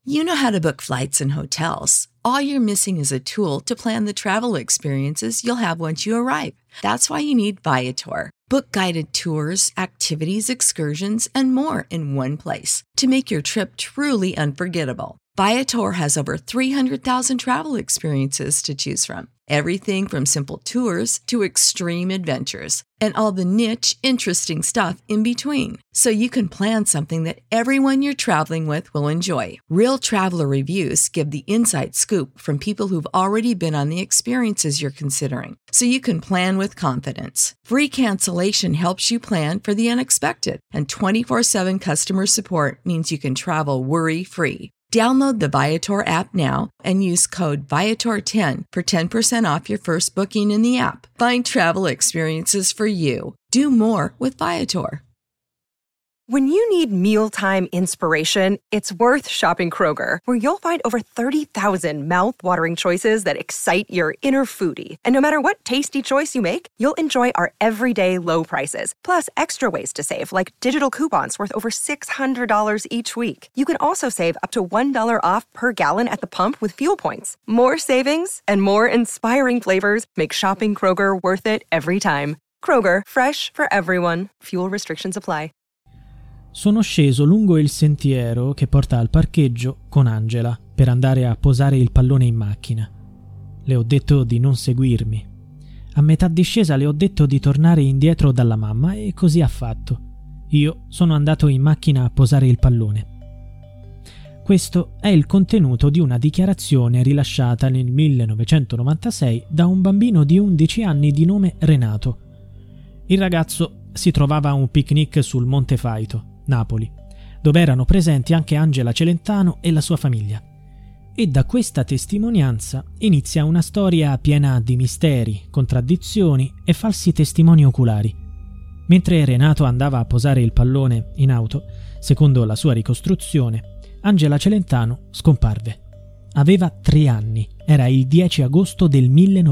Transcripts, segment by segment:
You know how to book flights and hotels. All you're missing is a tool to plan the travel experiences you'll have once you arrive. That's why you need Viator. Book guided tours, activities, excursions, and more in one place to make your trip truly unforgettable. Viator has over 300,000 travel experiences to choose from. Everything from simple tours to extreme adventures and all the niche, interesting stuff in between. So you can plan something that everyone you're traveling with will enjoy. Real traveler reviews give the inside scoop from people who've already been on the experiences you're considering. So you can plan with confidence. Free cancellation helps you plan for the unexpected. And 24/7 customer support means you can travel worry-free. Download the Viator app now and use code Viator10 for 10% off your first booking in the app. Find travel experiences for you. Do more with Viator. When you need mealtime inspiration, it's worth shopping Kroger, where you'll find over 30,000 mouth-watering choices that excite your inner foodie. And no matter what tasty choice you make, you'll enjoy our everyday low prices, plus extra ways to save, like digital coupons worth over $600 each week. You can also save up to $1 off per gallon at the pump with fuel points. More savings and more inspiring flavors make shopping Kroger worth it every time. Kroger, fresh for everyone. Fuel restrictions apply. Sono sceso lungo il sentiero che porta al parcheggio con Angela per andare a posare il pallone in macchina. Le ho detto di non seguirmi. A metà discesa le ho detto di tornare indietro dalla mamma e così ha fatto. Io sono andato in macchina a posare il pallone. Questo è il contenuto di una dichiarazione rilasciata nel 1996 da un bambino di 11 anni di nome Renato. Il ragazzo si trovava a un picnic sul Monte Faito, Napoli, dove erano presenti anche Angela Celentano e la sua famiglia. E da questa testimonianza inizia una storia piena di misteri, contraddizioni e falsi testimoni oculari. Mentre Renato andava a posare il pallone in auto, secondo la sua ricostruzione, Angela Celentano scomparve. Aveva 3 anni, era il 10 agosto del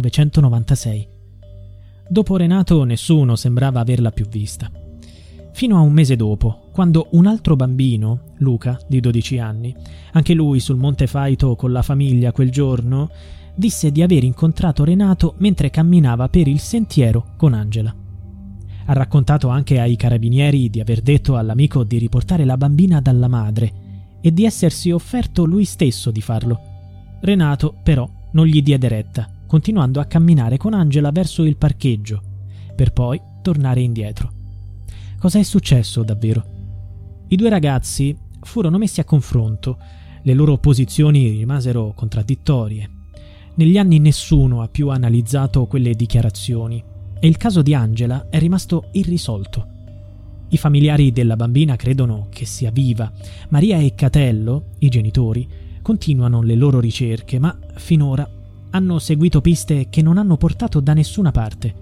1996. Dopo Renato nessuno sembrava averla più vista. Fino a un mese dopo, quando un altro bambino, Luca, di 12 anni, anche lui sul Monte Faito con la famiglia quel giorno, disse di aver incontrato Renato mentre camminava per il sentiero con Angela. Ha raccontato anche ai carabinieri di aver detto all'amico di riportare la bambina dalla madre e di essersi offerto lui stesso di farlo. Renato, però, non gli diede retta, continuando a camminare con Angela verso il parcheggio, per poi tornare indietro. Cosa è successo davvero? I due ragazzi furono messi a confronto, le loro posizioni rimasero contraddittorie. Negli anni nessuno ha più analizzato quelle dichiarazioni e il caso di Angela è rimasto irrisolto. I familiari della bambina credono che sia viva. Maria e Catello, i genitori, continuano le loro ricerche, ma finora hanno seguito piste che non hanno portato da nessuna parte.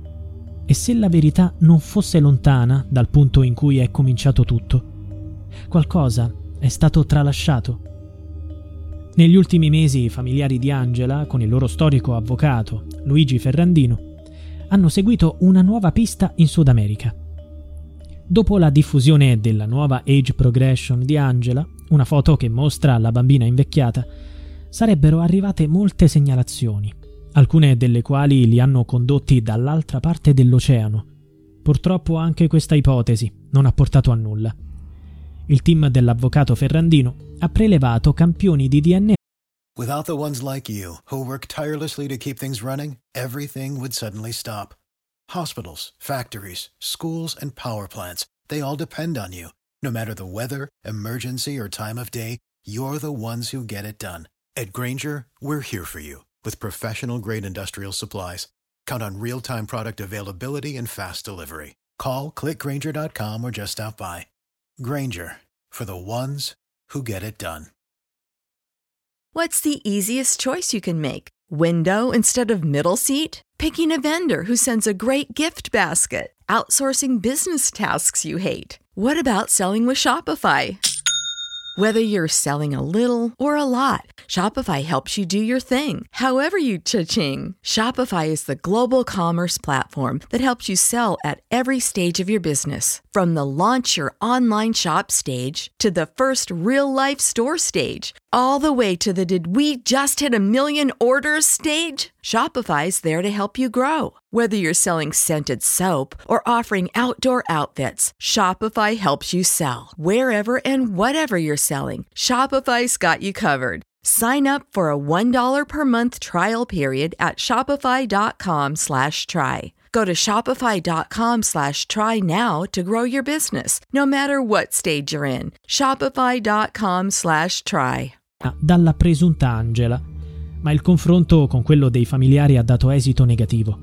E se la verità non fosse lontana dal punto in cui è cominciato tutto? Qualcosa è stato tralasciato. Negli ultimi mesi i familiari di Angela, con il loro storico avvocato, Luigi Ferrandino, hanno seguito una nuova pista in Sud America. Dopo la diffusione della nuova age progression di Angela, una foto che mostra la bambina invecchiata, sarebbero arrivate molte segnalazioni, alcune delle quali li hanno condotti dall'altra parte dell'oceano. Purtroppo anche questa ipotesi non ha portato a nulla. Il team dell'avvocato Ferrandino ha prelevato campioni di DNA. Without the ones like you, who work tirelessly to keep things running, everything would suddenly stop. Hospitals, factories, schools, and power plants, they all depend on you. No matter the weather, emergency, or time of day, you're the ones who get it done. At Grainger, we're here for you with professional-grade industrial supplies. Count on real-time product availability and fast delivery. Call, click Grainger.com, or just stop by. Grainger, for the ones who get it done. What's the easiest choice you can make? Window instead of middle seat? Picking a vendor who sends a great gift basket? Outsourcing business tasks you hate? What about selling with Shopify? Whether you're selling a little or a lot, Shopify helps you do your thing, however you cha-ching. Shopify is the global commerce platform that helps you sell at every stage of your business. From the launch your online shop stage to the first real-life store stage, all the way to the did we just hit a million orders stage. Shopify's there to help you grow. Whether you're selling scented soap or offering outdoor outfits, Shopify helps you sell. Wherever and whatever you're selling, Shopify's got you covered. Sign up for a $1 per month trial period at shopify.com/try. Go to shopify.com/try now to grow your business, no matter what stage you're in. Shopify.com/try. Dalla presunta Angela, ma il confronto con quello dei familiari ha dato esito negativo.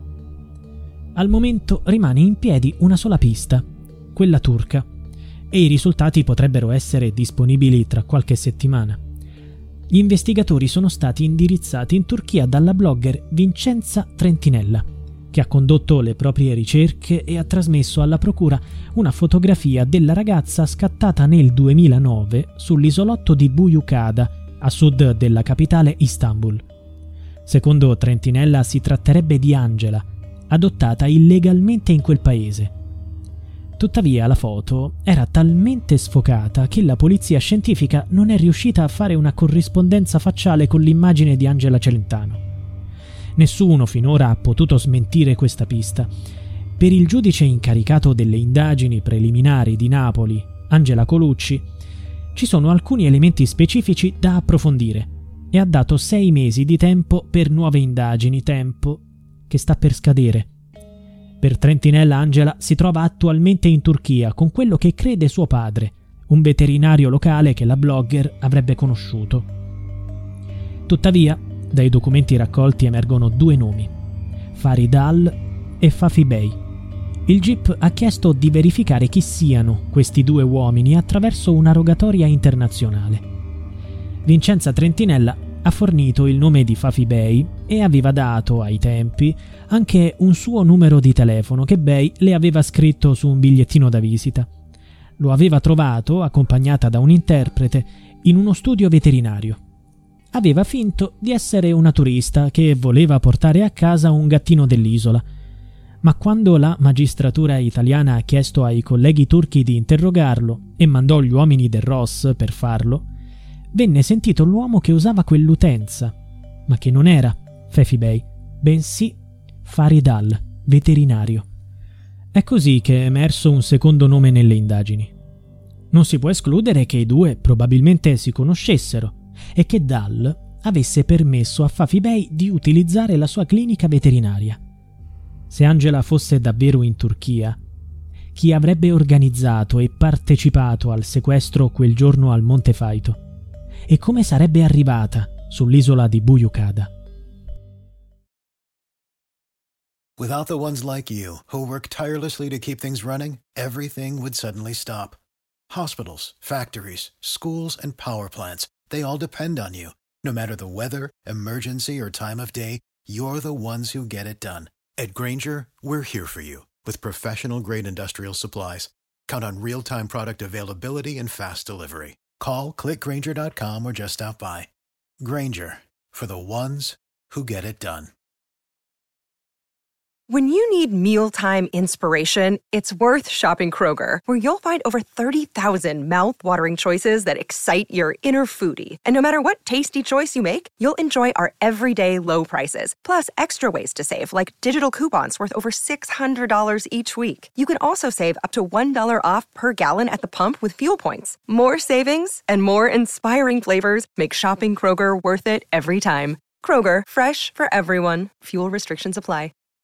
Al momento rimane in piedi una sola pista, quella turca, e i risultati potrebbero essere disponibili tra qualche settimana. Gli investigatori sono stati indirizzati in Turchia dalla blogger Vincenza Trentinella, che ha condotto le proprie ricerche e ha trasmesso alla procura una fotografia della ragazza scattata nel 2009 sull'isolotto di Buyukada, a sud della capitale Istanbul. Secondo Trentinella si tratterebbe di Angela, adottata illegalmente in quel paese. Tuttavia la foto era talmente sfocata che la polizia scientifica non è riuscita a fare una corrispondenza facciale con l'immagine di Angela Celentano. Nessuno finora ha potuto smentire questa pista. Per il giudice incaricato delle indagini preliminari di Napoli, Angela Colucci, ci sono alcuni elementi specifici da approfondire e ha dato 6 mesi di tempo per nuove indagini, tempo che sta per scadere. Per Trentinella Angela si trova attualmente in Turchia con quello che crede suo padre, un veterinario locale che la blogger avrebbe conosciuto. Tuttavia, dai documenti raccolti emergono 2 nomi, Farid Al e Fafi Bey. Il GIP ha chiesto di verificare chi siano questi 2 uomini attraverso una rogatoria internazionale. Vincenza Trentinella ha fornito il nome di Fafi Bey e aveva dato, ai tempi, anche un suo numero di telefono che Bey le aveva scritto su un bigliettino da visita. Lo aveva trovato, accompagnata da un interprete, in uno studio veterinario. Aveva finto di essere una turista che voleva portare a casa un gattino dell'isola. Ma quando la magistratura italiana ha chiesto ai colleghi turchi di interrogarlo e mandò gli uomini del ROS per farlo, venne sentito l'uomo che usava quell'utenza, ma che non era Fafi Bey, bensì Farid Al, veterinario. È così che è emerso un secondo nome nelle indagini. Non si può escludere che i 2 probabilmente si conoscessero e che Dal avesse permesso a Fafi Bey di utilizzare la sua clinica veterinaria. Se Angela fosse davvero in Turchia, chi avrebbe organizzato e partecipato al sequestro quel giorno al Monte Faito? E come sarebbe arrivata sull'isola di Buyukada? Without the ones like you, who work tirelessly to keep things running, everything would suddenly stop. Hospitals, factories, schools, and power plants, they all depend on you. No matter the weather, emergency, or time of day, you're the ones who get it done. At Grainger, we're here for you with professional-grade industrial supplies. Count on real-time product availability and fast delivery. Call, click Grainger.com, or just stop by. Grainger, for the ones who get it done. When you need mealtime inspiration, it's worth shopping Kroger, where you'll find over 30,000 mouth-watering choices that excite your inner foodie. And no matter what tasty choice you make, you'll enjoy our everyday low prices, plus extra ways to save, like digital coupons worth over $600 each week. You can also save up to $1 off per gallon at the pump with fuel points. More savings and more inspiring flavors make shopping Kroger worth it every time. Kroger, fresh for everyone. Fuel restrictions apply.